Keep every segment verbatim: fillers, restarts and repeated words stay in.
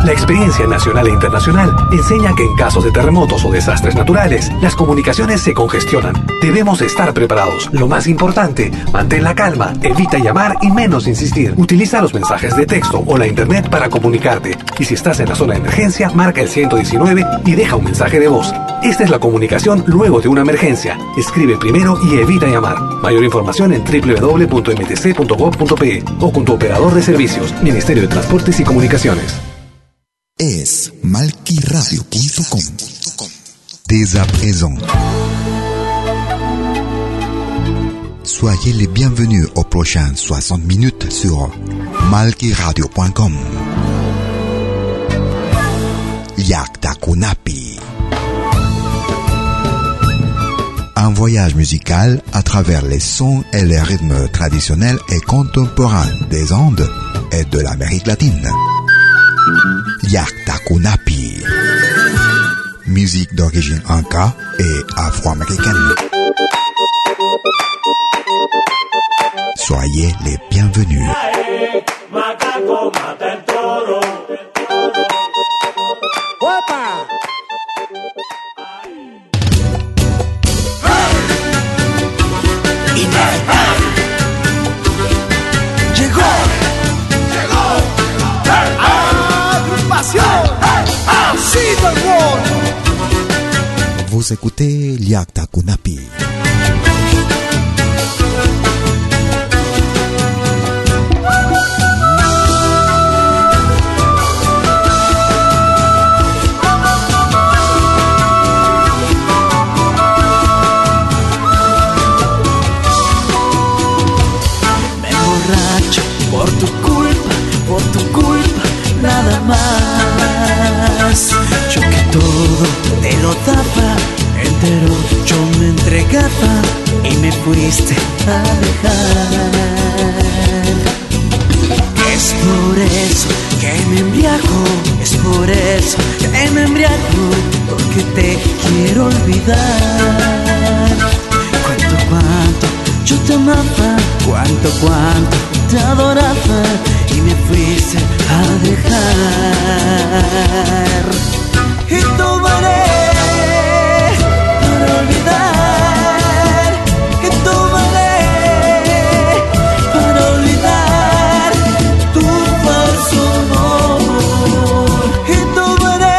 La experiencia nacional e internacional enseña que en casos de terremotos o desastres naturales, las comunicaciones se congestionan. Debemos estar preparados. Lo más importante, mantén la calma, evita llamar y menos insistir. Utiliza los mensajes de texto o la internet para comunicarte. Y si estás en la zona de emergencia, marca el ciento diecinueve y deja un mensaje de voz. Esta es la comunicación luego de una emergencia. Escribe primero y evita llamar. Mayor información en doble u doble u doble u punto m t c punto gov punto p e o con tu operador de servicios, Ministerio de Transportes y Comunicaciones. Es malquiradio punto com. Dès à présent. Soyez les bienvenus aux prochaines soixante minutes sur malquiradio punto com. Yakta Kunapi. Un voyage musical à travers les sons et les rythmes traditionnels et contemporains des Andes et de l'Amérique latine. Yakta Kunapi. Musique d'origine inca et afro-américaine. Soyez les bienvenus. Vous écoutez Yakta Kunapi. Me emborracho por tu culpa, por tu culpa, nada más. Yo que todo te lo daba entero, yo me entregaba y me fuiste a dejar. Es por eso que me embriago, es por eso que me embriago, porque te quiero olvidar. Cuánto, cuánto yo te amaba, cuánto, cuánto te adoraba y me fuiste a dejar. Y tomaré para olvidar, y tomaré para olvidar tu falso amor. Y tomaré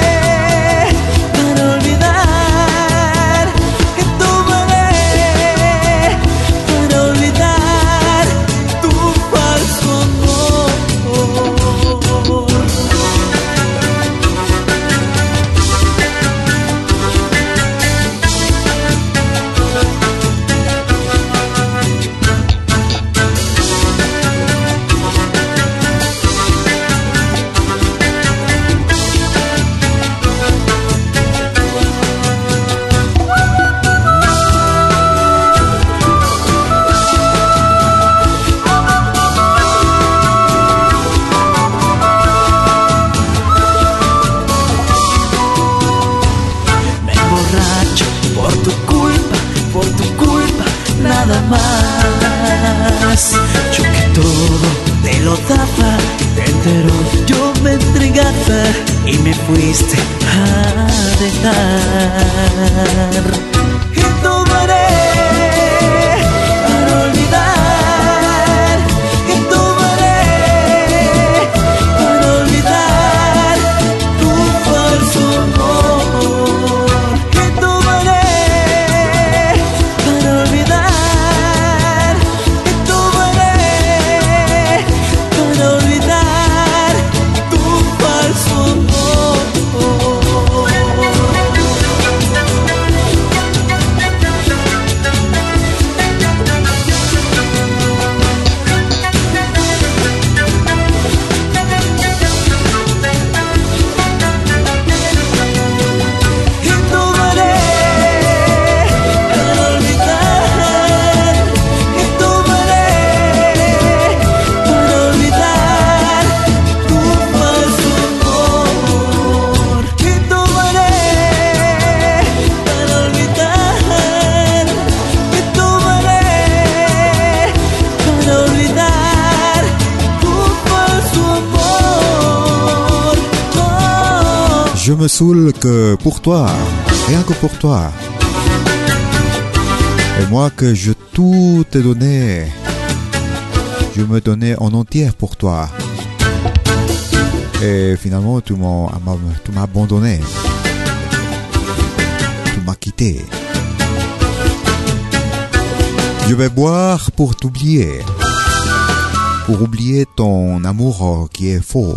para olvidar, y tomaré para olvidar tu falso amor. Me emborracho por tu culpa, por tu culpa, nada más. Yo que todo te lo daba entero, yo me entregaba y me fuiste a dejar. Y tomaré para olvidar, y tomaré para olvidar tu falso amor. Y tomaré para olvidar, y tomaré para olvidar tu falso amor. Je me saoule que pour toi, rien que pour toi. Et moi que je tout t'ai donné, je me donnais en entier pour toi. Et finalement tu m'as, tu m'as abandonné, tu m'as quitté. Je vais boire pour t'oublier, pour oublier ton amour qui est faux.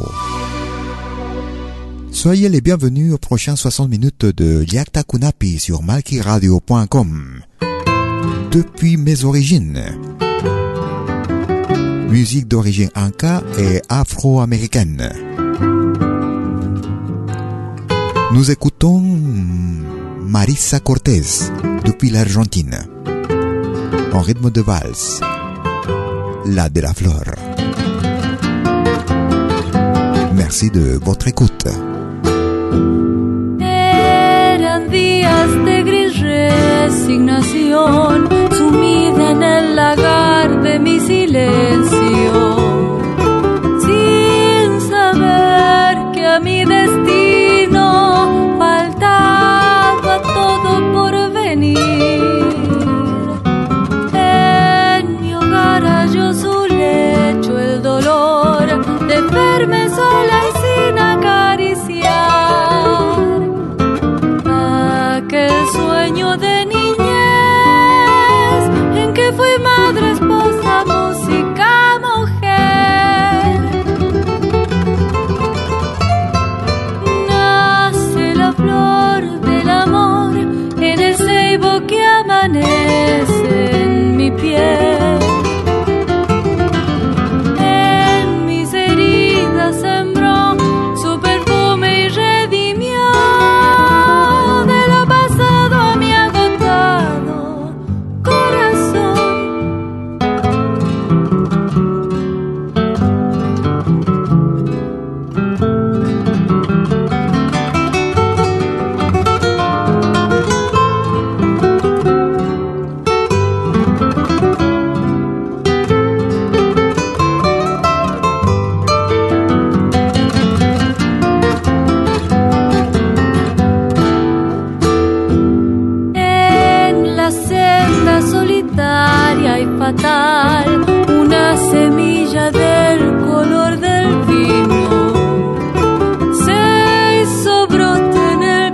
Soyez les bienvenus aux prochaines soixante minutes de Liakta Kunapi sur malki radio point com. Depuis mes origines. Musique d'origine inca et afro-américaine. Nous écoutons Marisa Cortés depuis l'Argentine. En rythme de valse. La de la flor. Merci de votre écoute. Eran días de gris resignación, sumida en el lagar de mi silencio, sin saber que a mi destino faltaba todo por venir. En mi hogar halló su lecho el dolor de verme sola y sin acariciar aquel sueño de niñez en que fui madre, esposa, música, mujer. Nace la flor del amor en el ceibo que amanece en mi piel. En mis heridas sembró su perfume y redimió de lo pasado a mi agotado corazón. En la senda solitaria y fatal, una semilla del color del vino se hizo brote en el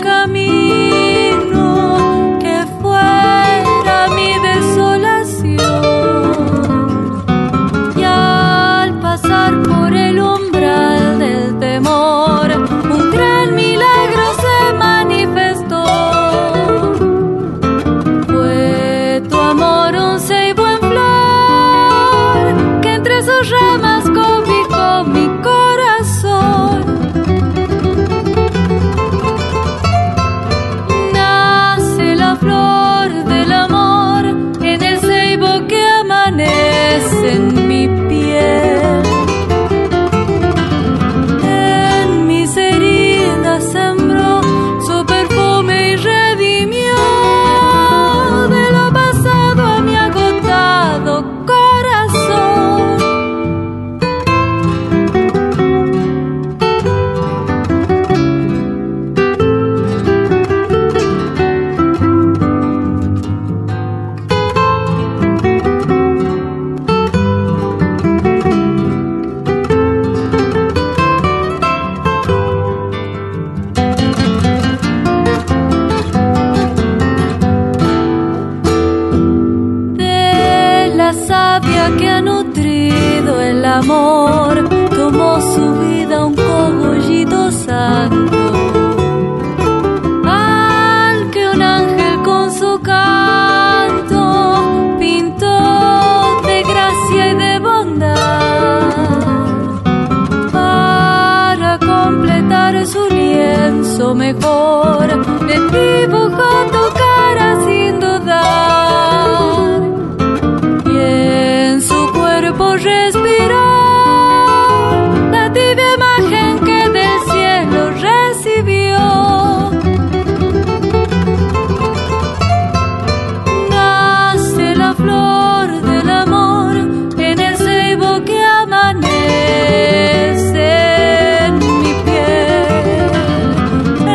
camino que fuera mi desolación. Y al pasar por el umbral del temor, un gran milagro se manifestó. Fue tu amor un ceibo en flor que entre sus ramas cobijó mi corazón. Nace la flor del amor en el ceibo que amanece en mi piel. En mis heridas sembró su perfume y redimió de lo pasado a mi agotado corazón. De la savia que ha nutrido el amor, tomó su vida un cogollito santo, al que un ángel con su canto pintó de gracia y de bondad, para completar su lienzo mejor, le dibujó tu cara sin dudar, y en su cuerpo respiró la tibia imagen que del cielo recibió. Nace la flor del amor en el ceibo que amanece en mi piel.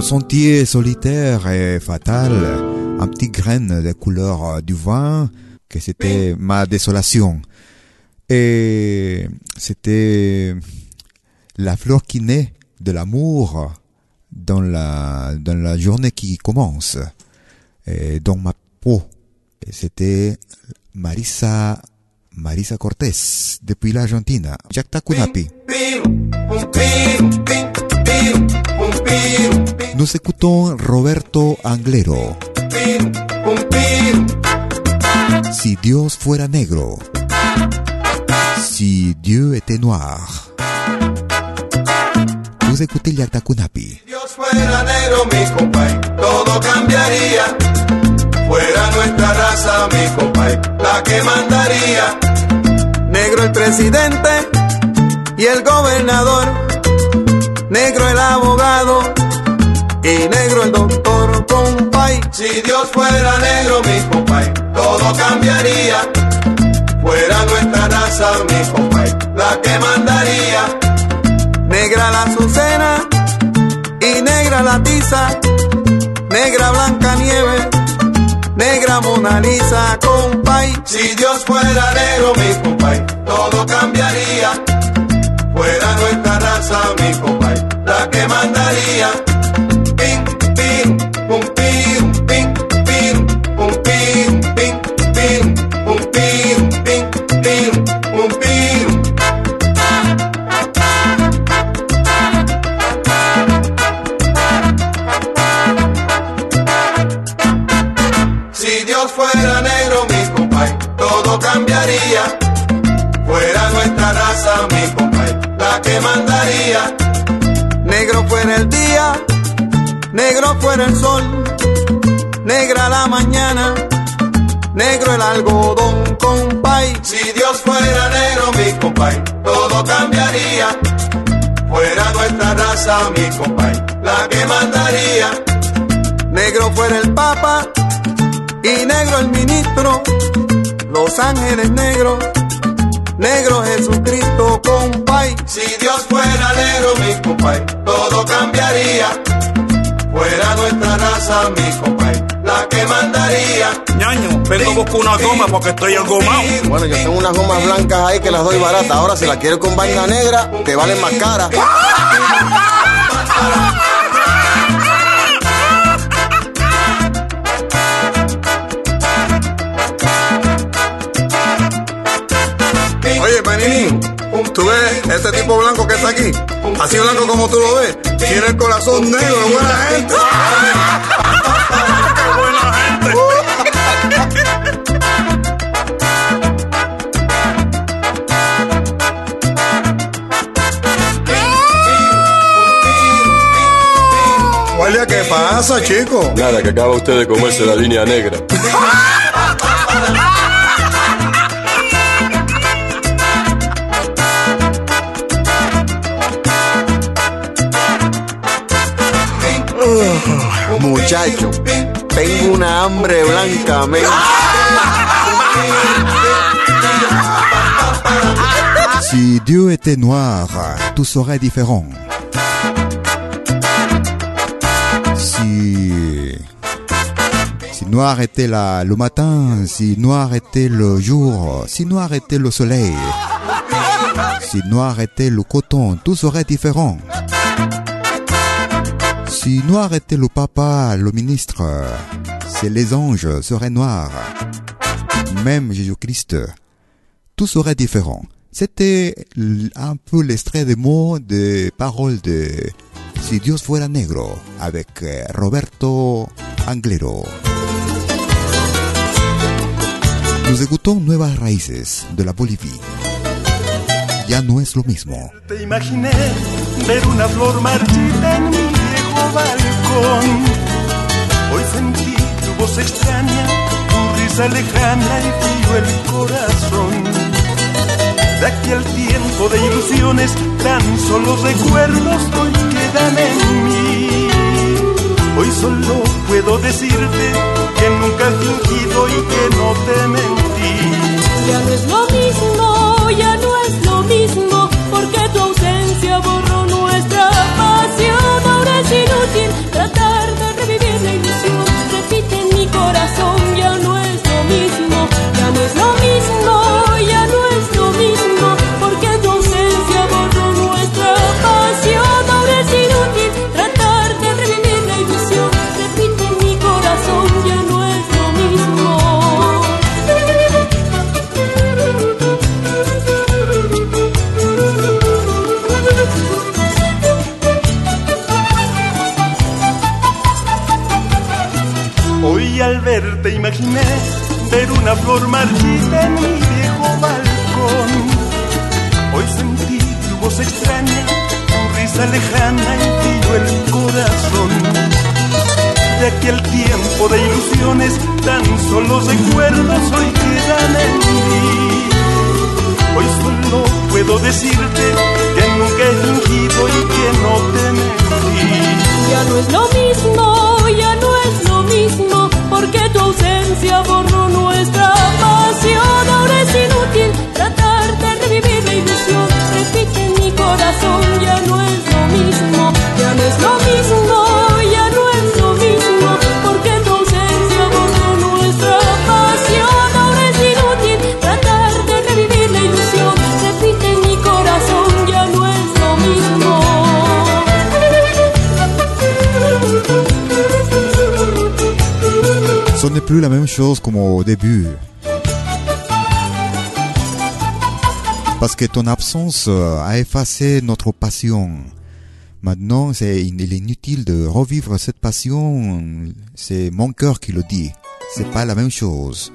sentier solitaire et fatal, un petit graine de couleur du vin, que c'était ma désolation. Et c'était la fleur qui naît de l'amour dans la, dans la journée qui commence, et dans ma peau. Et c'était Marisa, Marisa Cortés, depuis l'Argentine. Jacta Kunapi. Nous écoutons Roberto Anglero. Si Dios fuera negro, si Dieu était noir. Vous écoutez Jacta Kunapi. Si Dios fuera negro, mi compay, todo cambiaría. Fuera nuestra raza, mi compay, la que mandaría. Negro el presidente y el gobernador, negro el abogado y negro el doctor, compay. Si Dios fuera negro, mi compay, todo cambiaría. Fuera nuestra raza, mi compay, la que mandaría. Negra la azucena y negra la tiza, negra Blanca Nieve, negra Mona Lisa, compay. Si Dios fuera negro, mi compay, todo cambiaría. Fuera nuestra raza, mi compay, la que mandaría. Pim, pim, pum, pim, pim, pim, pum, pim, pim, pim, pum, pim, pim, pim, pum, pim. Si Dios fuera negro, mi compay, todo cambiaría. Fuera nuestra raza, mi compay, la que mandaría. Negro fuera el día, negro fuera el sol, negra la mañana, negro el algodón, compay. Si Dios fuera negro, mi compay, todo cambiaría. Fuera nuestra raza, mi compay, la que mandaría. Negro fuera el papa y negro el ministro, los ángeles negros, negro Jesucristo, compay. Si Dios fuera negro, mi compay, todo cambiaría. Fuera nuestra raza, mi compay, la que mandaría. Ñaño, vengo a buscar una goma porque estoy engomado. Bueno, yo tengo unas gomas blancas ahí que las doy baratas. Ahora, si la quieres con vaina negra, te valen más cara. Oye, Panini, ¿tú ves este tipo blanco que está aquí? Así blanco como tú lo ves. Tiene el corazón negro, buena gente. ¡Qué buena gente! Guardia, ¿qué pasa, chico? Nada, que acaba usted de comerse la línea negra. Muchacho, tengo una hambre blanca, men. Si Dieu était noir, tout serait différent. Si, si noir était la, le matin, si noir était le jour, si noir était le soleil, si noir était le coton, tout serait différent. Si noir était le papa, le ministre, si les anges seraient noirs, même Jésus-Christ, tout serait différent. C'était un peu l'extrait des mots, des paroles de Si Dios fuera negro, avec Roberto Anglero. Nous écoutons Nuevas Raíces de la Bolivie. Ya no es lo mismo. Te imaginé ver una flor marchita en mi viejo balcón. Hoy sentí tu voz extraña, tu risa lejana y frío el corazón. De aquel tiempo de ilusiones, tan solo recuerdos hoy quedan en mí. Hoy solo puedo decirte que nunca he fingido y que no te mentí. Ya no es lo mismo, ya no es lo mismo, porque tu ausencia borró nuestra pasión. Ahora es inútil tratar flor marchita en mi viejo balcón. Hoy sentí tu voz extraña, tu risa lejana y frío el corazón. De aquel tiempo de ilusiones, tan solo recuerdos hoy quedan en mí. Hoy solo puedo decirte que nunca he fingido y que no te mentí. Ya no es lo mismo, ya no es lo mismo, porque tu ausencia borró nuestra pasión. Ahora es inútil tratar de revivir la ilusión. Repite en mi corazón, ya no es lo mismo, ya no es lo mismo, ya no es lo mismo, porque tu ausencia borró nuestra pasión. Ahora es inútil tratar de revivir la ilusión. Repite en mi corazón, ya no es lo mismo. Ce n'est plus la même chose comme au début. Parce que ton absence a effacé notre passion. Maintenant, c'est, il est inutile de revivre cette passion. C'est mon cœur qui le dit. C'est pas la même chose.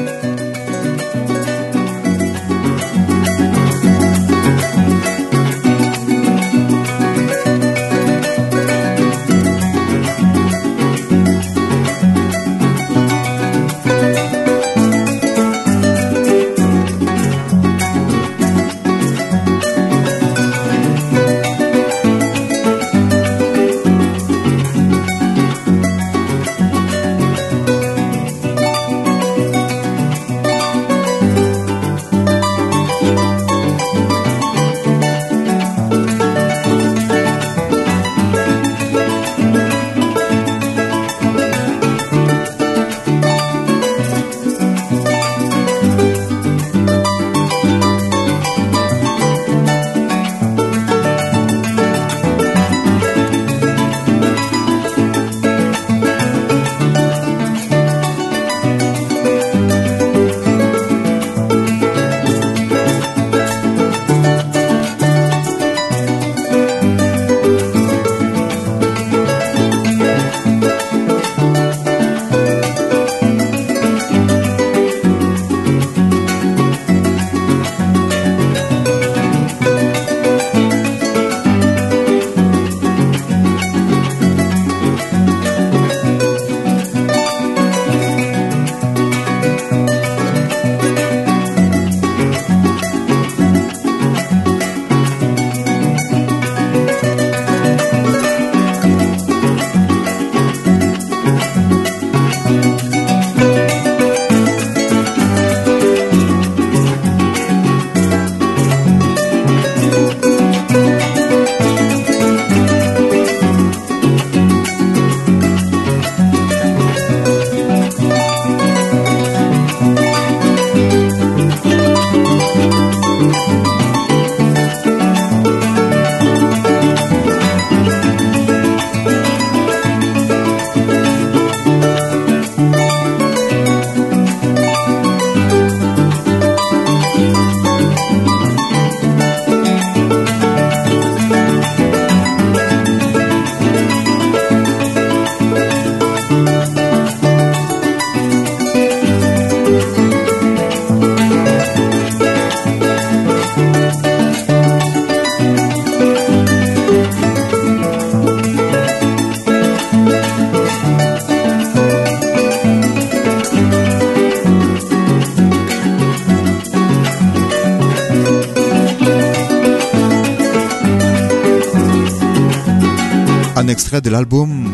Un extrait de l'album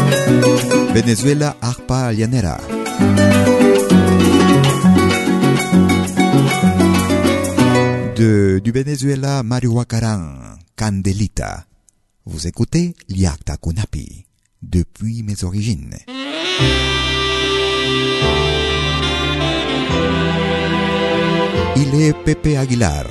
Venezuela Arpa Llanera. De, du Venezuela Mario Huacarán, Candelita. Vous écoutez Liakta Kunapi, depuis mes origines. Il est Pepe Aguilar.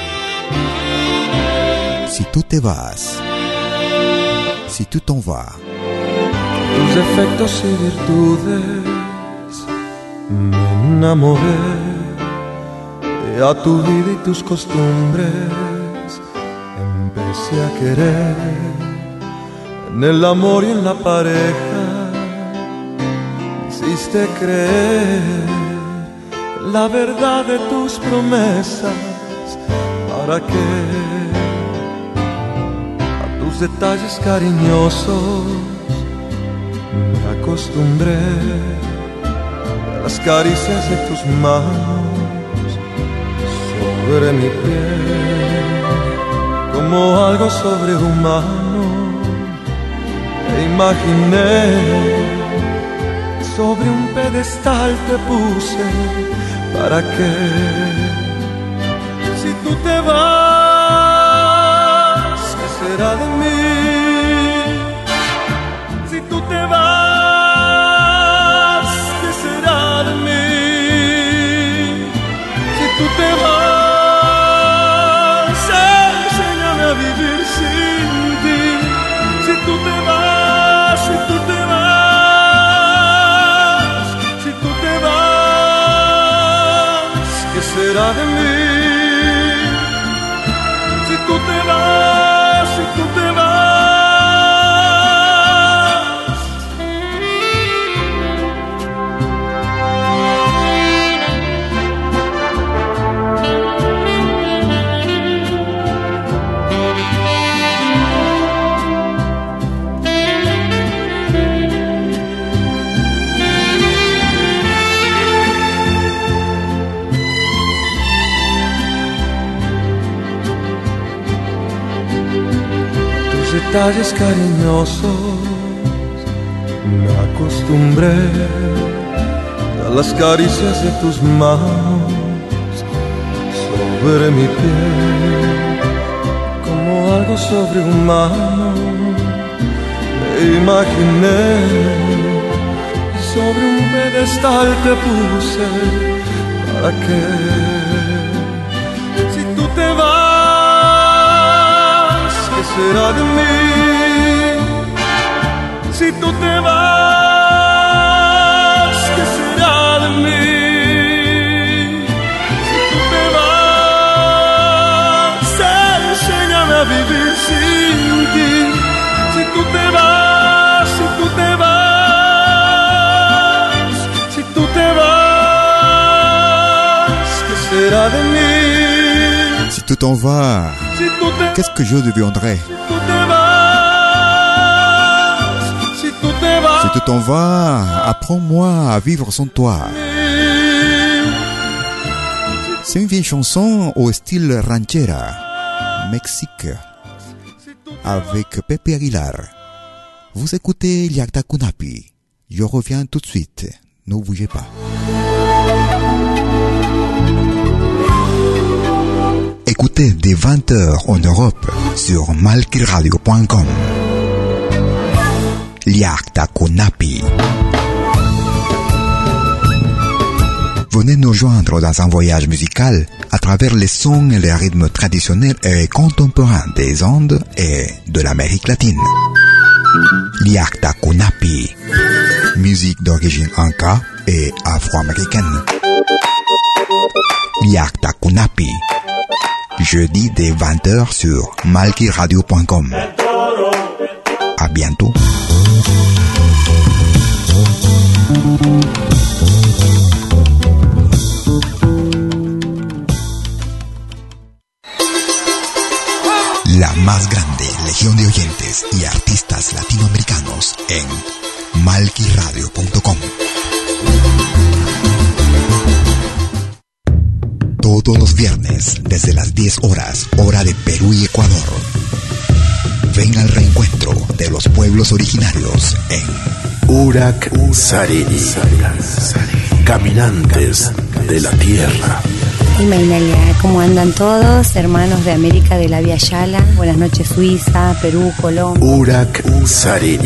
Si tú te vas, si tú t'en vas. Tus defectos y virtudes me enamoré, y a tu vida y tus costumbres empecé a querer. En el amor y en la pareja me hiciste creer la verdad de tus promesas. ¿Para qué? A tus detalles cariñosos me acostumbré, a las caricias de tus manos sobre mi piel, como algo sobrehumano te imaginé. Sobre un pedestal te puse. ¿Para qué? Si tú te vas, ¿qué será de mí? Si tú te vas, ¿qué será de mí? Si tú te vas, enséñame a vivir sin ti. Si tú te vas, si tú te vas, si tú te vas, ¿qué será de mí? Si tú te vas, si tú te vas. Detalles cariñosos me acostumbré, a las caricias de tus manos sobre mi piel, como algo sobrehumano me imaginé. Sobre un pedestal te puse. ¿Para qué? Si tú te vas, ¿qué será de mí? Si tú te vas, ¿qué será de mí? Si tú te vas, enséñame a vivir sin ti. Si tú te vas, si tú te vas, si tú te vas, ¿qué será de mí? Si tu t'en vas, qu'est-ce que je deviendrai? Si tu t'en vas, apprends-moi à vivre sans toi. C'est une vieille chanson au style ranchera, Mexique, avec Pepe Aguilar. Vous écoutez Liakta Kunapi. Je reviens tout de suite. Ne bougez pas. Écoutez dès vingt heures en Europe sur malkiradio point com. Liakta Kunapi. Venez nous joindre dans un voyage musical à travers les sons et les rythmes traditionnels et contemporains des Andes et de l'Amérique latine. Liakta Kunapi. Musique d'origine inca et afro-américaine. Liakta Kunapi. Jeudi dès vingt heures sur malkiradio point com. À bientôt. La más grande legión de oyentes y artistas latinoamericanos en malkiradio punto com. Todos los viernes, desde las diez horas, hora de Perú y Ecuador. Ven al reencuentro de los pueblos originarios en Urak Sarini, caminantes de la tierra. Y Mainalia, ¿cómo andan todos? Hermanos de América de la Via Yala. Buenas noches, Suiza, Perú, Colombia. Urak Sarini.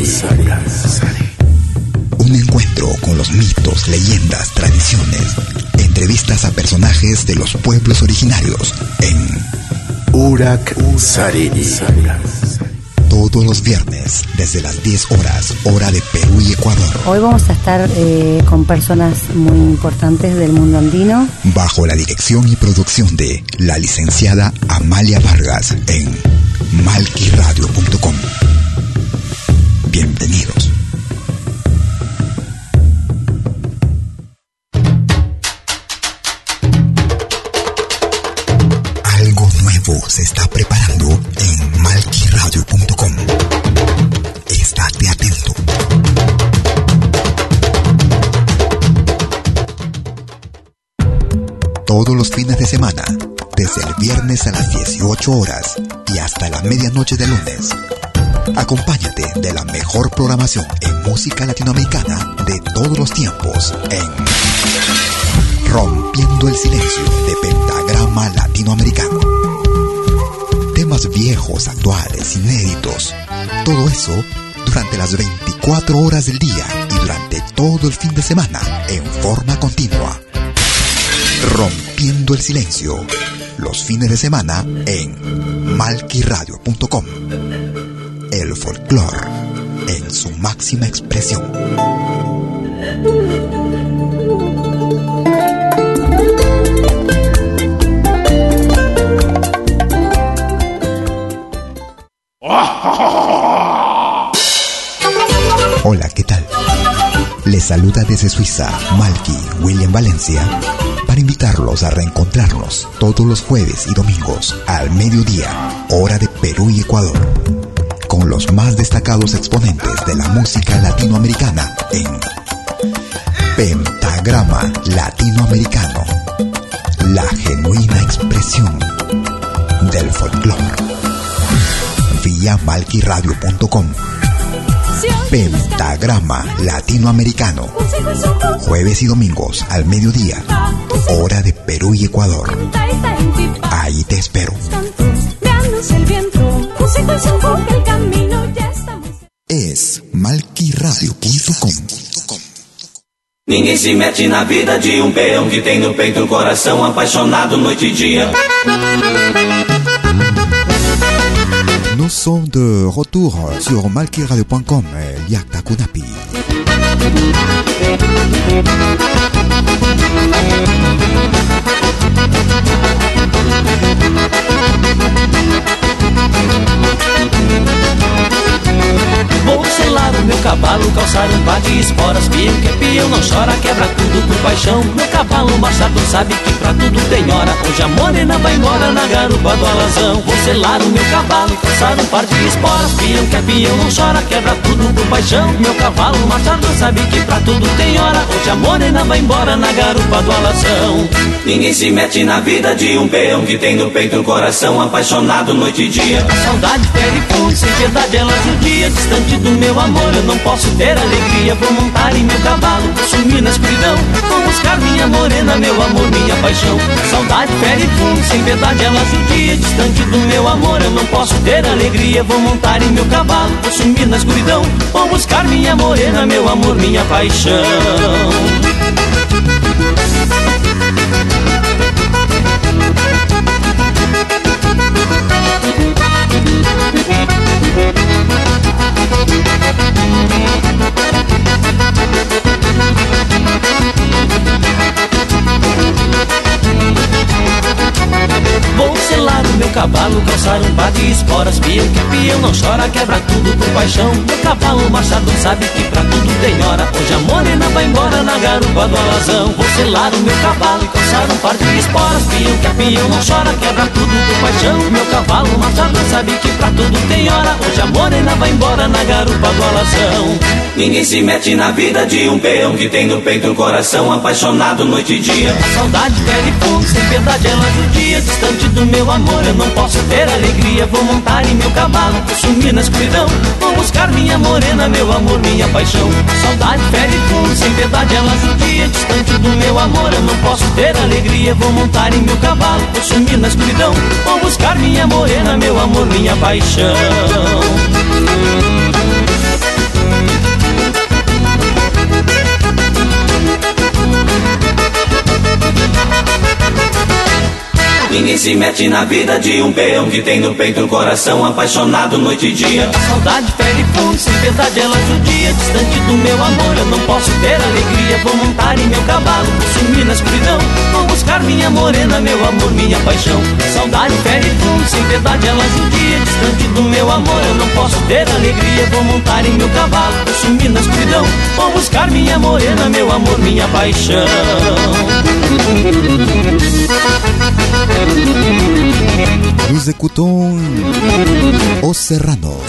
Un encuentro con los mitos, leyendas, tradiciones, entrevistas a personajes de los pueblos originarios en Urak Sarini. Todos los viernes, desde las diez horas, hora de Perú y Ecuador. Hoy vamos a estar eh, con personas muy importantes del mundo andino. Bajo la dirección y producción de la licenciada Amalia Vargas en malkiradio punto com. Bienvenidos. nuevo se está preparando en malqui radio punto com. Estate atento. Todos los fines de semana, desde el viernes a las dieciocho horas y hasta la medianoche de lunes, acompáñate de la mejor programación en música latinoamericana de todos los tiempos en Rompiendo el Silencio de Pentagrama Latinoamericano. Temas viejos, actuales, inéditos, todo eso durante las veinticuatro horas del día y durante todo el fin de semana en forma continua. Rompiendo el Silencio, los fines de semana en malqui radio punto com. El folclore en su máxima expresión. Hola, ¿qué tal? Les saluda desde Suiza Malqui William Valencia para invitarlos a reencontrarnos todos los jueves y domingos al mediodía, hora de Perú y Ecuador, con los más destacados exponentes de la música latinoamericana en Pentagrama Latinoamericano, la genuina expresión del folclore. Vía malqui radio punto com. Pentagrama Latinoamericano, jueves y domingos al mediodía, hora de Perú y Ecuador. Ahí te espero. Es malqui radio punto com. Ninguém se mete na vida de um peão que tem no peito o coração apaixonado noite e dia. Nous sommes de retour sur malqui radio punto com, Liakta Kunapi. Vou selar o meu cavalo, calçar um par de esporas. Pião que é pião, não chora, quebra tudo por paixão. Meu cavalo machado sabe que pra tudo tem hora. Hoje a morena vai embora na garupa do alazão. Vou selar o meu cavalo, calçar um par de esporas. Pião que é pião, não chora, quebra tudo por paixão. Meu cavalo machado sabe que pra tudo tem hora. Hoje a morena vai embora na garupa do alazão. Ninguém se mete na vida de um peão que tem no peito o coração apaixonado noite e dia. A saudade fere fogo, sem piedade ela judia. Distante do meu amor eu não posso ter alegria. Vou montar em meu cavalo, sumir na escuridão. Vou buscar minha morena, meu amor, minha paixão. A saudade fere fogo, sem piedade ela judia. Distante do meu amor eu não posso ter alegria. Vou montar em meu cavalo, vou sumir na escuridão. Vou buscar minha morena, meu amor, minha paixão. Vou selar o meu cavalo, calçar um par de esporas. Pião que é pião, não chora, quebra tudo por paixão. Meu cavalo machado sabe que pra tudo tem hora. Hoje a morena vai embora na garupa do alazão. Vou selar o meu cavalo, calçar um par de esporas. Pião que é pião, não chora, quebra tudo por paixão. Meu cavalo machado sabe que pra tudo tem hora. Hoje a morena vai embora na garupa do alazão. Ninguém se mete na vida de um peão que tem no peito o coração apaixonado noite e dia. A saudade pede fogo, sem piedade ela judia. Distante do meu amor eu não posso ter alegria. Vou montar em meu cavalo, vou sumir na escuridão. Vou buscar minha morena, meu amor, minha paixão. A saudade fere fogo, sem piedade ela judia. Distante do meu amor eu não posso ter alegria. Vou montar em meu cavalo, vou sumir na escuridão. Vou buscar minha morena, meu amor, minha paixão. Ninguém se mete na vida de um peão que tem no peito o coração apaixonado noite e dia. A saudade fere fogo, sem piedade ela judia. Distante do meu amor eu não posso ter alegria. Vou montar em meu cavalo, vou sumir na escuridão. Vou buscar minha morena, meu amor, minha paixão. A saudade fere fogo, sem piedade ela judia. Distante do meu amor eu não posso ter alegria. Vou montar em meu cavalo, vou sumir na escuridão. Vou buscar minha morena, meu amor, minha paixão. Nous Nous écoutons Os Serranos.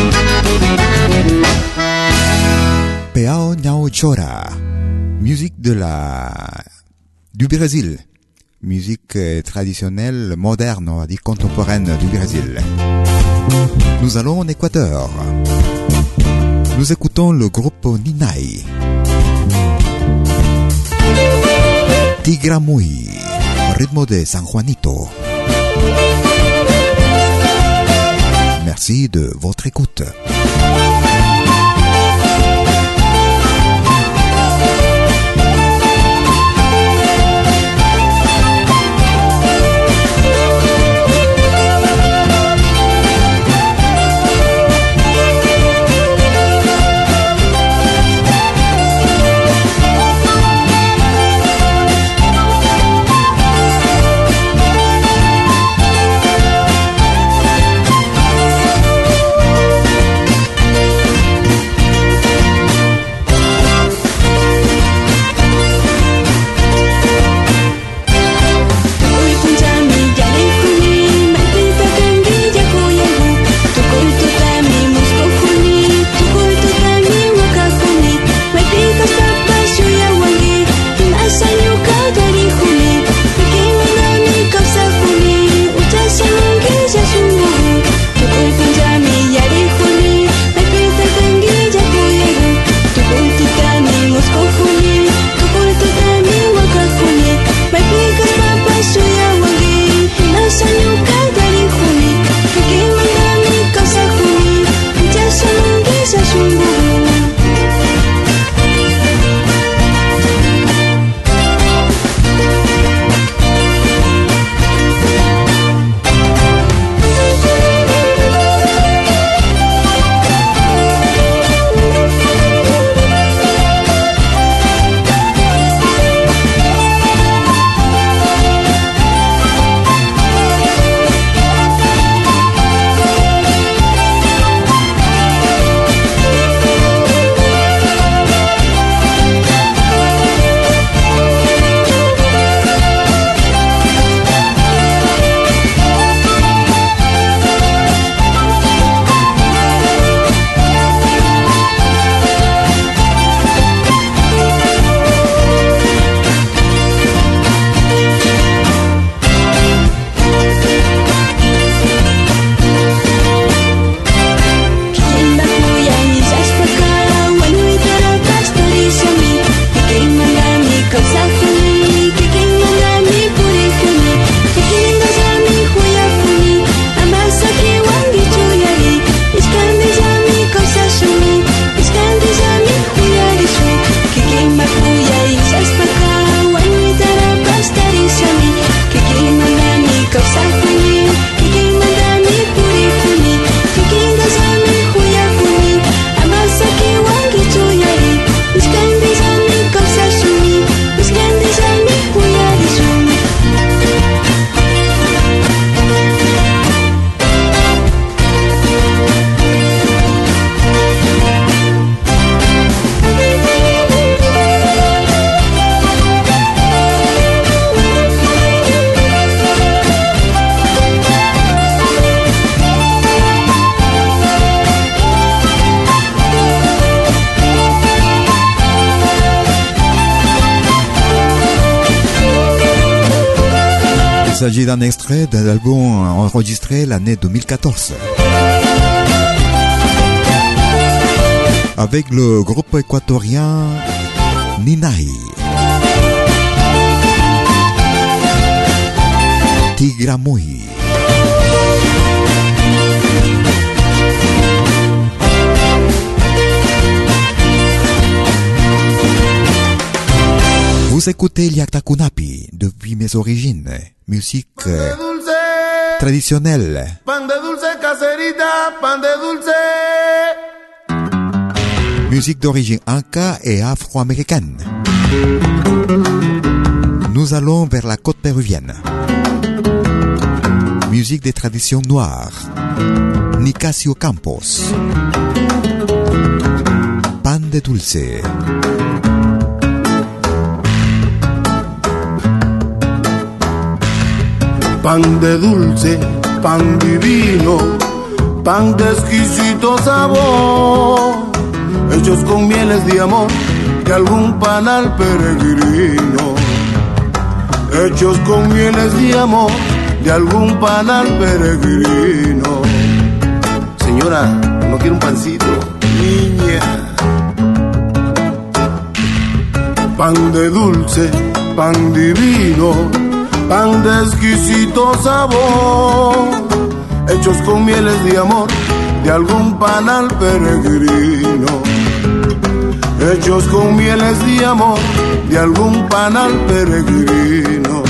Peao Nhau Chora, musique de la du Brésil, musique traditionnelle, moderne, on va dire contemporaine du Brésil. Nous allons en Équateur. Nous écoutons le groupe Ninay. Tigramuy, ritmo de San Juanito. Merci de votre écoute. Il s'agit d'un extrait d'un album enregistré l'année deux mille quatorze avec le groupe équatorien Ninay. Tigramuy. Vous écoutez Liakta Kunapi depuis mes origines, musique euh, traditionnelle. Pan de dulce caserita, pan de dulce. Musique d'origine inca et afro-américaine. Nous allons vers la côte péruvienne. Musique des traditions noires. Nicasio Campos. Pan de dulce. Pan de dulce, pan divino, pan de exquisito sabor, hechos con mieles de amor de algún panal peregrino, hechos con mieles de amor de algún panal peregrino. Señora, ¿no quiere un pancito? Niña. Pan de dulce, pan divino, pan de exquisito sabor, hechos con mieles de amor de algún panal peregrino, hechos con mieles de amor de algún panal peregrino.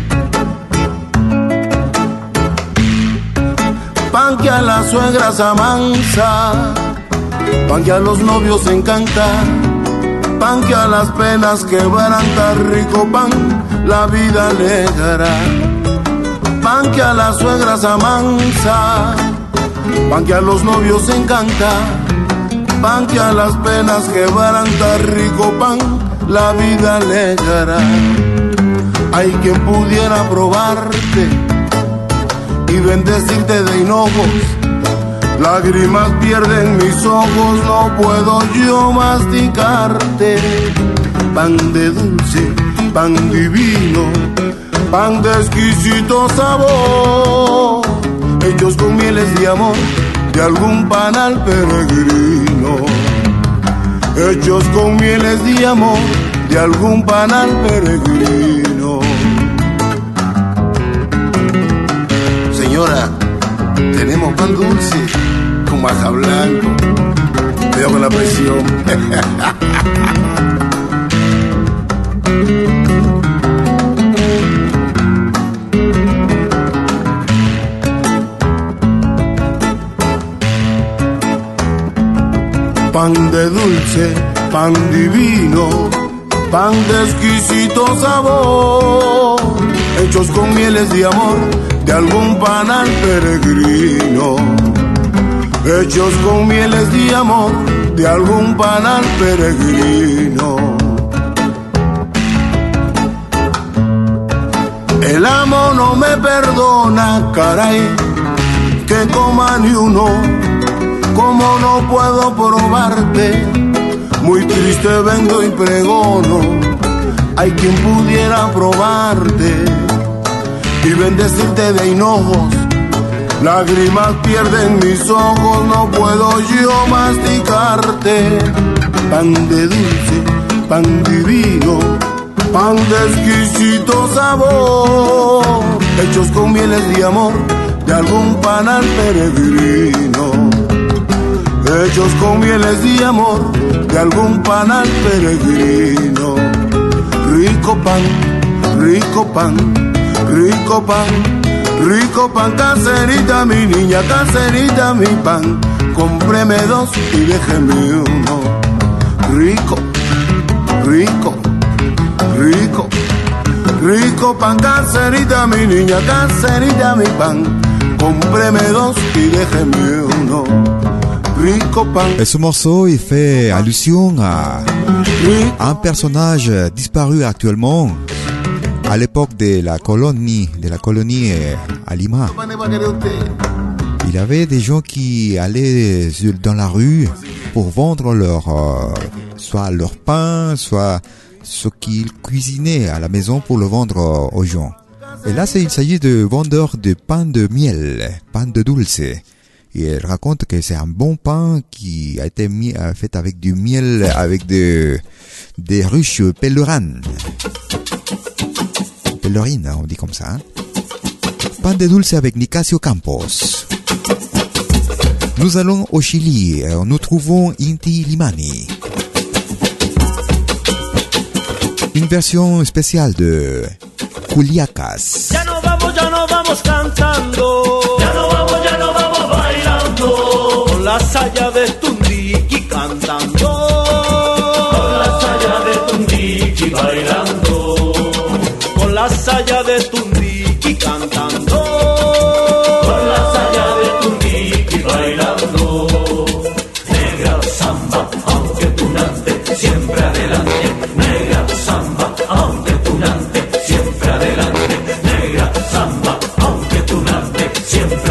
Pan que a las suegras amansa, pan que a los novios encanta, pan que a las penas quebranta, rico pan la vida alegrará. Pan que a las suegras amansa, pan que a los novios encanta, pan que a las penas quebranta, rico pan la vida alegrará. Hay quien pudiera probarte y bendecirte de hinojos, lágrimas pierden mis ojos, no puedo yo masticarte. Pan de dulce, pan divino, pan de exquisito sabor, hechos con mieles de amor de algún panal peregrino, hechos con mieles de amor de algún panal peregrino. Señora, tenemos pan dulce con maja blanco. Cuidado con la presión. Pan de dulce, pan divino, pan de exquisito sabor, hechos con mieles de amor de algún panal peregrino, hechos con mieles de amor de algún panal peregrino. El amo no me perdona, caray, que coma ni uno, como no puedo probarte, muy triste vengo y pregono, hay quien pudiera probarte y bendecirte de hinojos, lágrimas pierden mis ojos, no puedo yo masticarte. Pan de dulce, pan divino, pan de exquisito sabor, hechos con mieles de amor de algún panal peregrino, hechos con mieles de amor de algún panal peregrino. Rico pan, rico pan, rico pan, rico pan, caserita mi niña, caserita mi pan, cómpreme dos y déjeme uno. Rico, rico, rico, rico pan, caserita mi niña, caserita mi pan, cómpreme dos y déjeme uno. Rico pan. Et ce morceau, il fait allusion à un personnage disparu actuellement à l'époque de la colonie, de la colonie à Lima. Il y avait des gens qui allaient dans la rue pour vendre leur, euh, soit leur pain, soit ce qu'ils cuisinaient à la maison pour le vendre aux gens. Et là, il s'agit de vendeurs de pain de miel, pain de dulce. Et elle raconte que c'est un bon pain qui a été mis, fait avec du miel, avec de, des ruches pèlerines. Pèlerines, on dit comme ça. Hein? Pan de dulce avec Nicasio Campos. Nous allons au Chili. Nous trouvons Inti Limani. Une version spéciale de Culiacas. Ya no vamos, ya no vamos cantando. Ya no vamos, ya no vamos bailando. Con la saya de Tundiki cantando. Con la saya de Tundiki bailando. Con la saya de Tundiki cantando. Con la saya de Tundiki bailando. Negra samba, aunque tunante, siempre adelante. Negra samba, aunque tunante, siempre adelante. Negra samba, aunque tunante, siempre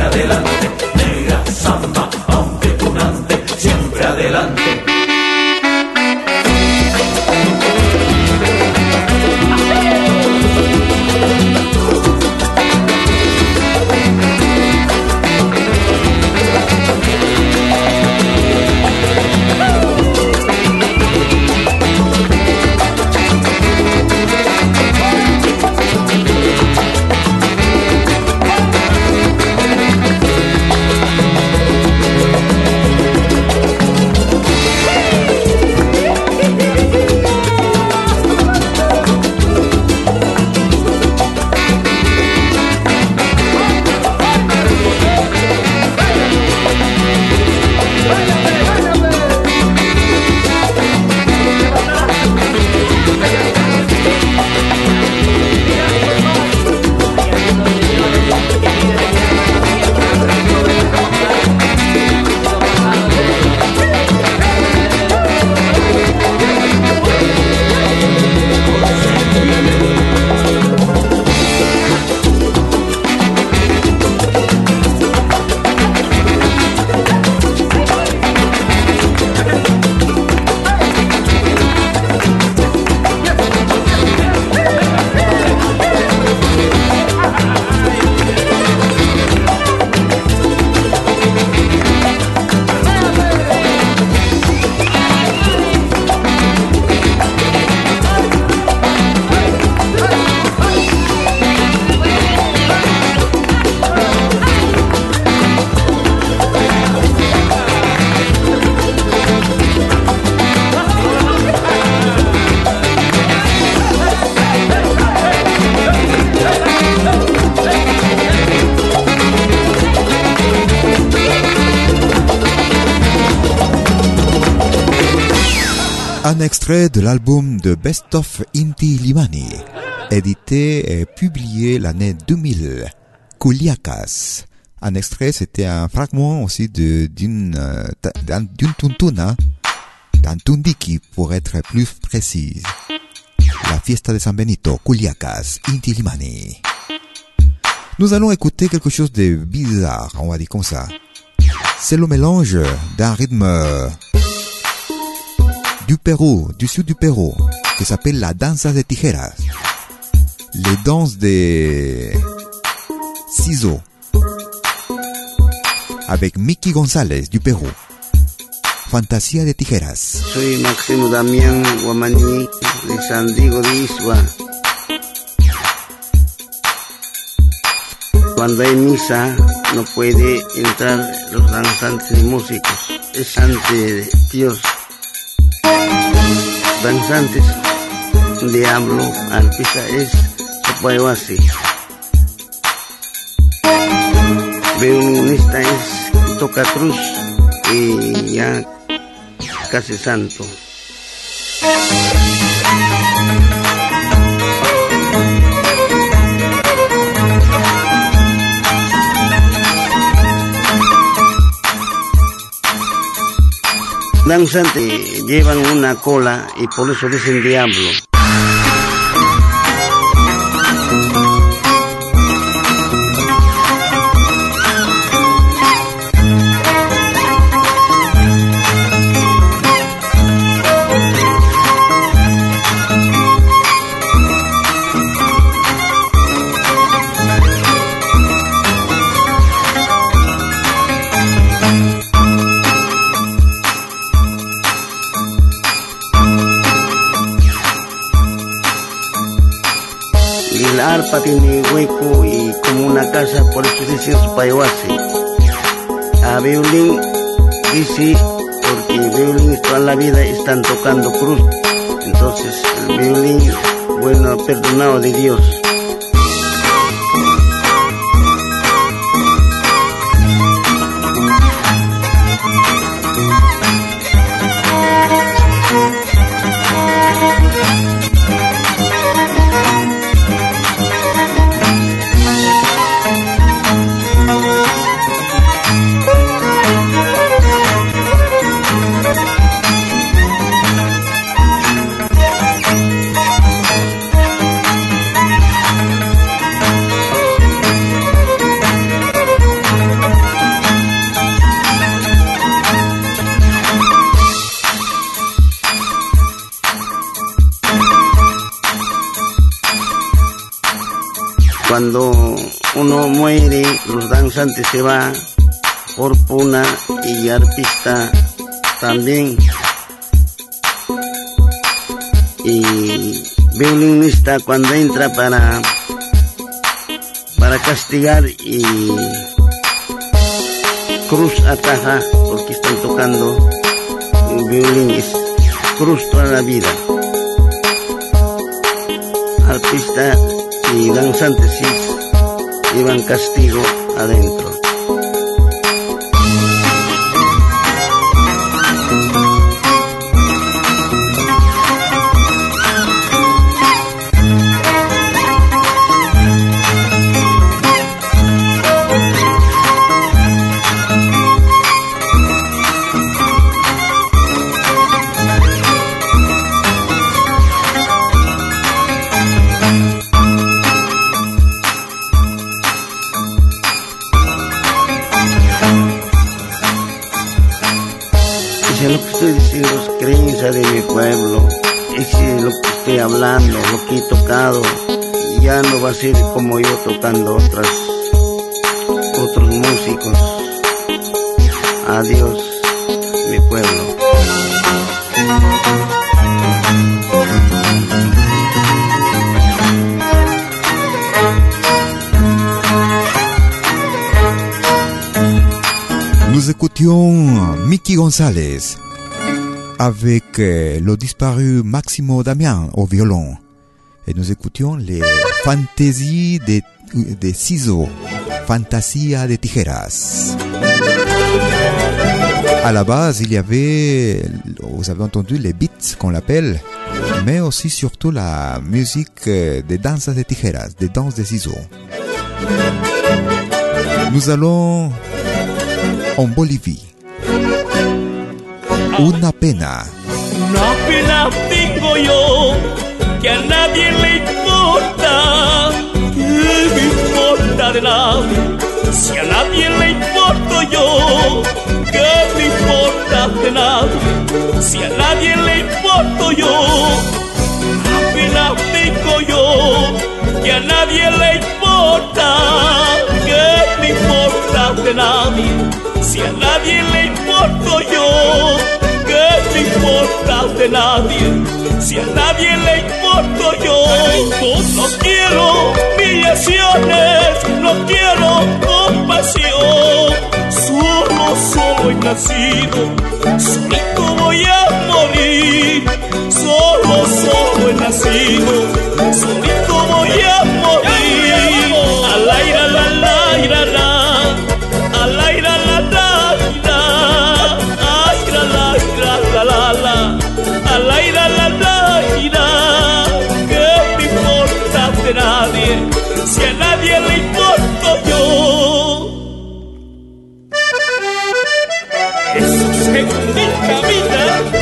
un extrait de l'album de Best of Inti Limani, édité et publié l'année deux mille, Culiacas. Un extrait, c'était un fragment aussi de, d'une, d'un, d'une tuntuna, d'un tundiki pour être plus précise. La fiesta de San Benito, Culiacas, Inti Limani. Nous allons écouter quelque chose de bizarre, on va dire comme ça. C'est le mélange d'un rythme du Pérou, du sud du Pérou, qui s'appelle la danza de tijeras. Les danses des ciseaux. Avec Mickey González du Pérou. Fantasía de tijeras. Soy Máximo Damián Guamaní de San Diego de Isua. Cuando hay misa no puede entrar los danzantes y músicos. Es ante Dios. Danzantes, diablo, artista es Sopayoasi. Violinista es toca cruz y ya casi santo. Danzantes llevan una cola y por eso dicen diablo. La arpa tiene hueco y como una casa, por eso dice Sopayoasi. A violín dice, porque el violín toda la vida están tocando cruz. Entonces el violín, bueno, perdonado de Dios. Cuando uno muere, los danzantes se van por puna y arpista también. Y violinista cuando entra para, para castigar y cruz ataja porque están tocando un violín, es cruz toda la vida. Arpista y danzantes sí llevan castigo adentro. Es lo que estoy diciendo, es creencia de mi pueblo. Es lo que estoy hablando, lo que he tocado. Ya no va a ser como yo tocando otras, otros músicos. Adiós, mi pueblo. Nous écoutions Mickey González avec euh, le disparu Máximo Damián au violon. Et nous écoutions les fantaisies des, des ciseaux, Fantasía de tijeras. À la base, il y avait vous avez entendu les beats qu'on l'appelle, mais aussi surtout la musique des danzas de tijeras, des danses de ciseaux. Nous allons en Bolivie. Una pena. Una pena tengo yo, que a nadie le importa, que me importa de nadie. Si a nadie le importo yo, que me importa de nadie. Si a nadie le importo yo, una pena tengo yo, que a nadie le importa, que me importa de nadie. Si a nadie le importo yo, que me importa de nadie. Si a nadie le importo yo, no quiero humillaciones, no quiero compasión. Solo, solo he nacido, solito voy a morir. Solo, solo he nacido, solito voy a morir. Al aire, la, la, la, la, al aire, la, la, la, ay, la, la, la, la, la, al aire, la, la, la, que me importa de nadie, si a nadie le importo yo. Eso significa vida.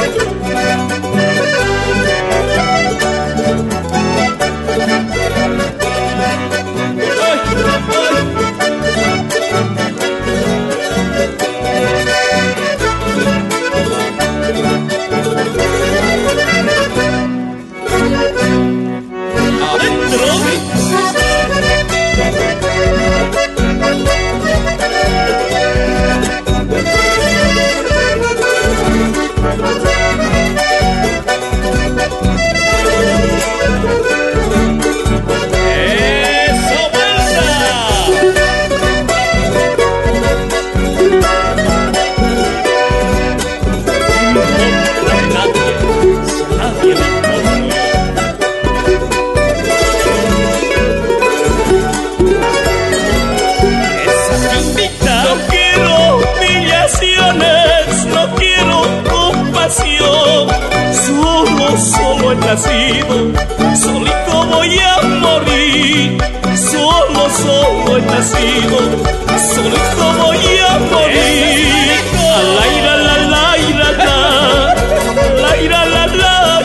Solo, solo he nacido, solito voy a morir. Solo, solo he nacido, solito voy a morir. Al aire, la, la, la, la, al aire, la, la, la,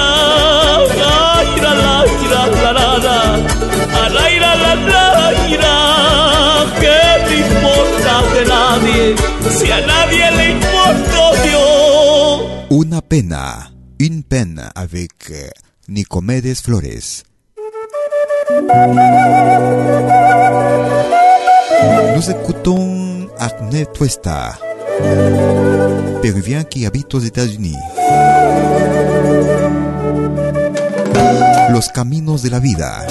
la, la, la, la, al aire, la, la, la, que me importa de nadie, si a nadie le importo yo. Una pena, une peine avec euh, Nicomedes Flores. Nous écoutons Arne Tuesta, péruvien qui habite aux États-Unis. Los caminos de la vida,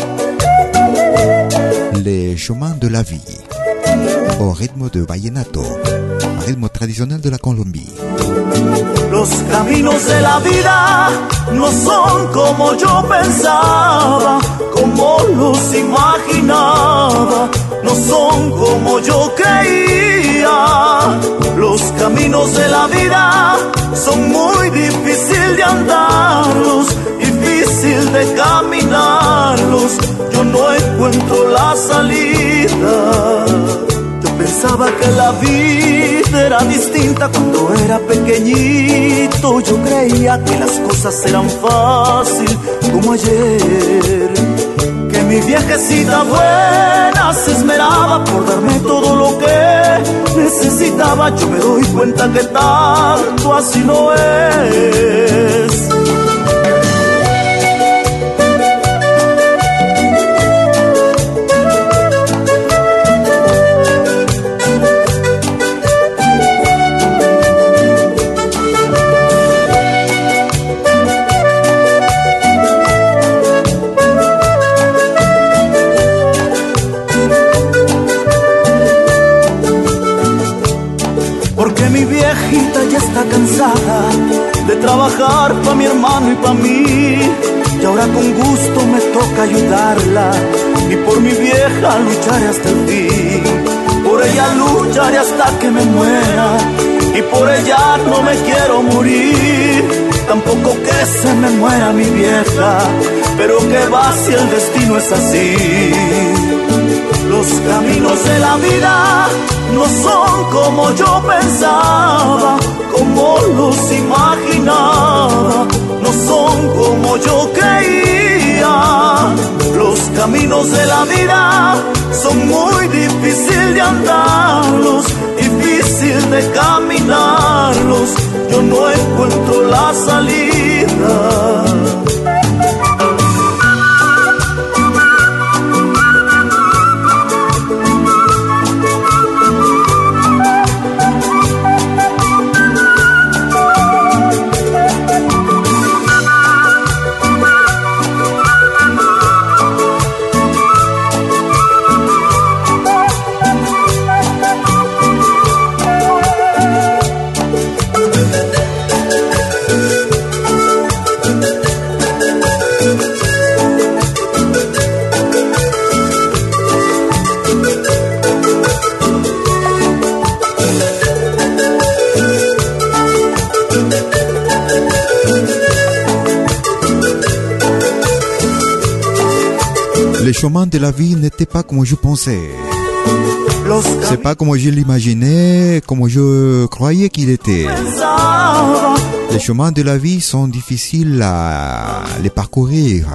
les chemins de la vie, au rythme de vallenato, ritmo tradicional de la Colombie. Los caminos de la vida no son como yo pensaba, como los imaginaba, no son como yo creía. Los caminos de la vida son muy difícil de andarlos, difícil de caminarlos. Yo no encuentro la salida. Pensaba que la vida era distinta cuando era pequeñito. Yo creía que las cosas eran fácil como ayer, que mi viejecita buena se esmeraba por darme todo lo que necesitaba. Yo me doy cuenta que tanto así no es. Ya está cansada de trabajar pa' mi hermano y pa' mí, y ahora con gusto me toca ayudarla, y por mi vieja lucharé hasta el fin. Por ella lucharé hasta que me muera, y por ella no me quiero morir. Tampoco que se me muera mi vieja, pero que va si el destino es así. Los caminos de la vida no son como yo pensaba, como los imaginaba, no son como yo creía. Los caminos de la vida son muy difíciles de andarlos, difícil de caminarlos. Yo no encuentro la salida. Le chemin de la vie n'était pas comme je pensais. C'est pas comme je l'imaginais, comme je croyais qu'il était. Les chemins de la vie sont difficiles à les parcourir.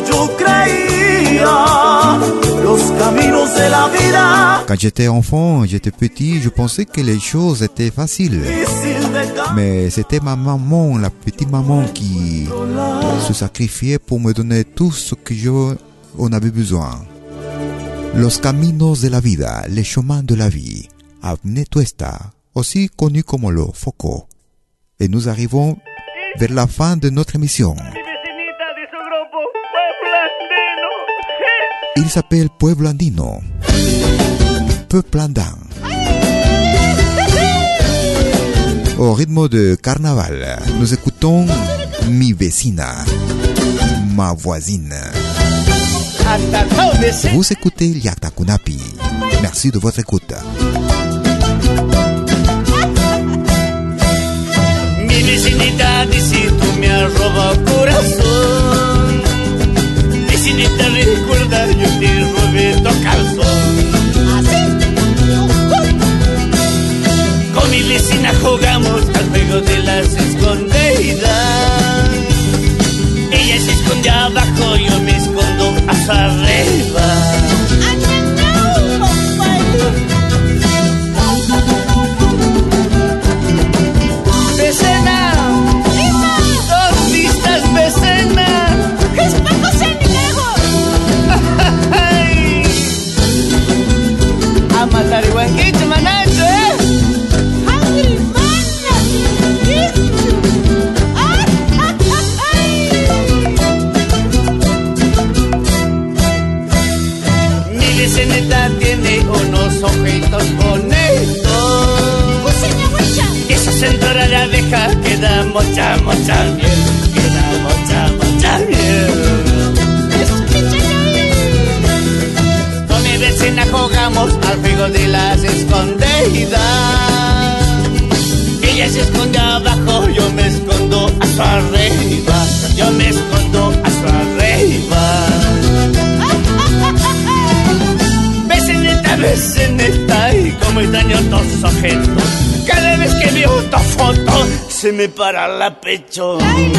Quand j'étais enfant, j'étais petit, je pensais que les choses étaient faciles. Mais c'était ma maman, la petite maman, qui se sacrifiait pour me donner tout ce que je on avait besoin. Los caminos de la vida, les chemins de la vie. Avenue Tuesta, aussi connu comme le Foco. Et nous arrivons vers la fin de notre émission. Il s'appelle Pueblo Andino. Peuple andin. Au rythme de carnaval, nous écoutons Mi Vecina, ma voisine. Vous écoutez Yatakunapi. Merci de votre écoute. Mi vecinita dice tú me has robado corazón. Vecinita recuerda yo te robé tu calzón. Con mi vecina jugamos al juego de las escondidas. Ella se esconde abajo, yo me escondo hasta arriba. Vecina, ¿dónde estás, vecina? ¡Espejos en lejos! A matar iguanquito, manacho, ¿eh? ¡Hungry, vecinita tiene unos ojitos bonitos. Esa cintura de abeja que da mucha, mucha miel. Que da mucha, mucha miel. Con mi vecina jugamos al juego de las escondidas. Ella se esconde abajo, yo me escondo hasta arriba. Yo me escondo hasta arriba. Vecinita, y como extraño tus objetos. Cada vez que veo tu foto se me para la pecho.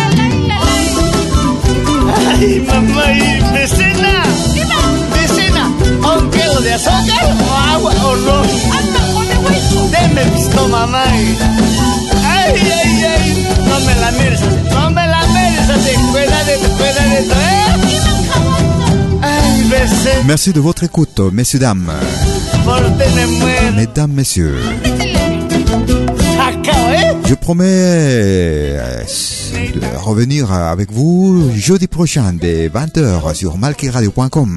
Ay, mamá y vecina. Vecina, ¿un kilo de azúcar o agua o ron? Deme pisto, mamá. Ay, ay, ay, no me la mires así, no me la mires así. Cuídate, cuídate, ¿eh? Merci de votre écoute, messieurs, dames. Mesdames, messieurs. Je promets de revenir avec vous jeudi prochain dès vingt heures sur malki radio point com.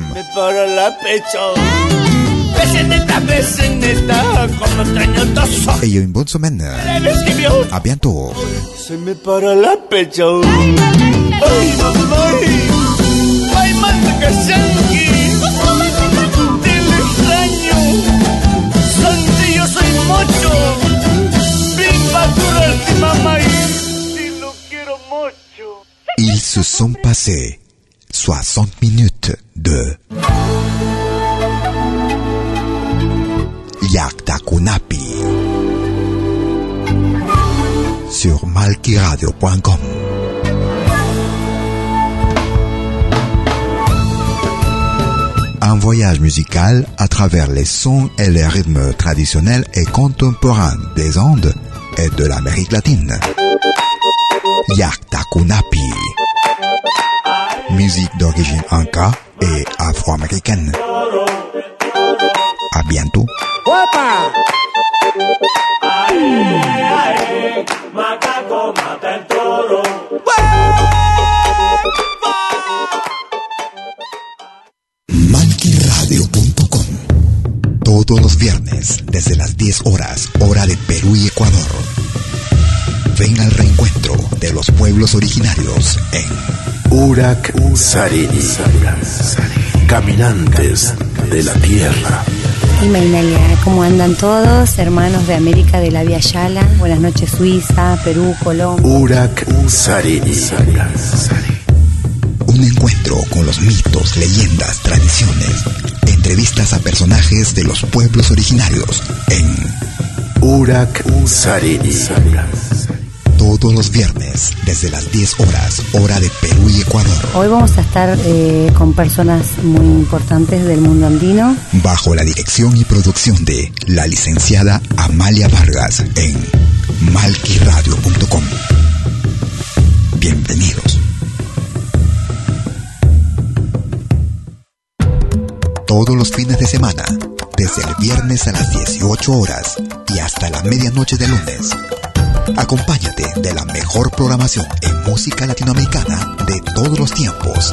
Ayez une bonne semaine. À bientôt. Se me para la pecho. Ay, mamá. Ay, manda que sangue. Dile extraño. Santi, yo soy mucho. Bimba passé soixante minutes de Yaktakunapi sur malkiradio point com. Un voyage musical à travers les sons et les rythmes traditionnels et contemporains des Andes et de l'Amérique latine. Yaktakunapi. Musique d'origine inca et afro-américaine. À bientôt. malkiradio punto com. Todos los viernes desde las diez horas, hora de Perú y Ecuador. Ven al reencuentro de los pueblos originarios en Urak Sarini. Caminantes de la Tierra. Y Mainalia, ¿cómo andan todos? Hermanos de América de la Via Yala. Buenas noches, Suiza, Perú, Colombia. Urak Sarini. Un encuentro con los mitos, leyendas, tradiciones. Entrevistas a personajes de los pueblos originarios en Urak Sarini. Todos los viernes desde las diez horas, hora de Perú y Ecuador. Hoy vamos a estar eh, con personas muy importantes del mundo andino. Bajo la dirección y producción de la licenciada Amalia Vargas en malkiradio punto com. Bienvenidos. Todos los fines de semana, desde el viernes a las dieciocho horas y hasta la medianoche de lunes. Acompáñate de la mejor programación en música latinoamericana de todos los tiempos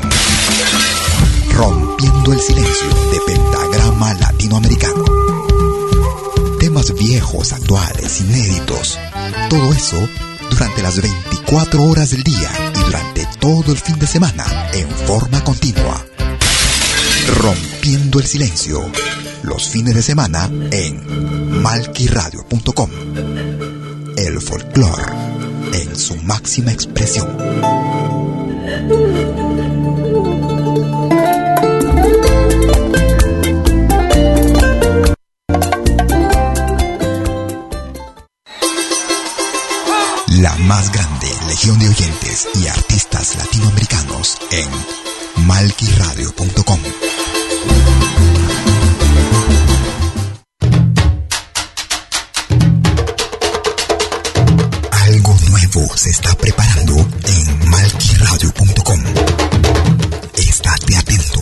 en Rompiendo el Silencio de Pentagrama Latinoamericano. Temas viejos, actuales, inéditos. Todo eso durante las veinticuatro horas del día y durante todo el fin de semana en forma continua. Rompiendo el Silencio, los fines de semana en malkiradio punto com. El folclore en su máxima expresión. La más grande legión de oyentes y artistas latinoamericanos en malkiradio punto com. Algo nuevo se está preparando en malkiradio punto com. Estate atento.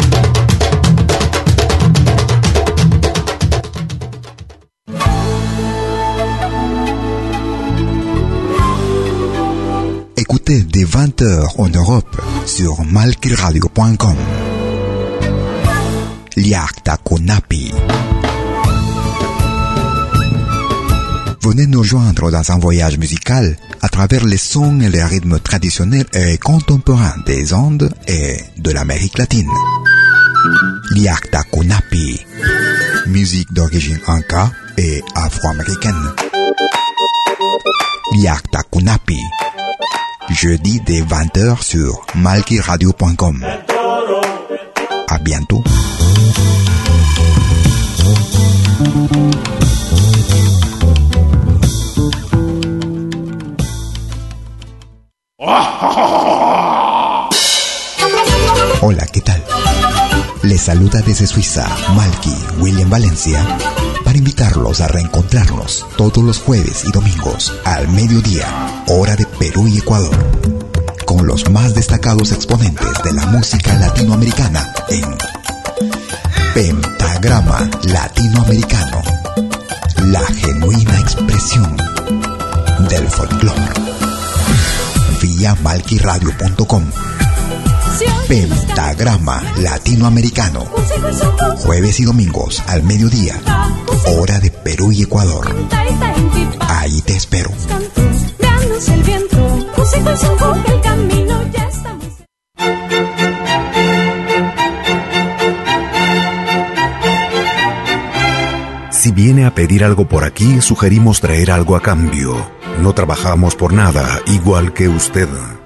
Écoutez dès vingt heures en Europe sur malkiradio punto com. Yaktakunapi. Venez nous joindre dans un voyage musical à travers les sons et les rythmes traditionnels et contemporains des Andes et de l'Amérique latine. Yaktakunapi. Musique d'origine inca et afro-américaine. Yaktakunapi. Jeudi dès vingt heures sur malkiradio punto com. À bientôt. Hola, ¿qué tal? Les saluda desde Suiza Malky William Valencia para invitarlos a reencontrarnos todos los jueves y domingos al mediodía, hora de Perú y Ecuador, con los más destacados exponentes de la música latinoamericana en Pentagrama Latinoamericano, la genuina expresión del folclore. Vía malkiradio punto com. Pentagrama Latinoamericano, jueves y domingos al mediodía, hora de Perú y Ecuador. Ahí te espero. Si viene a pedir algo por aquí, sugerimos traer algo a cambio. No trabajamos por nada, igual que usted.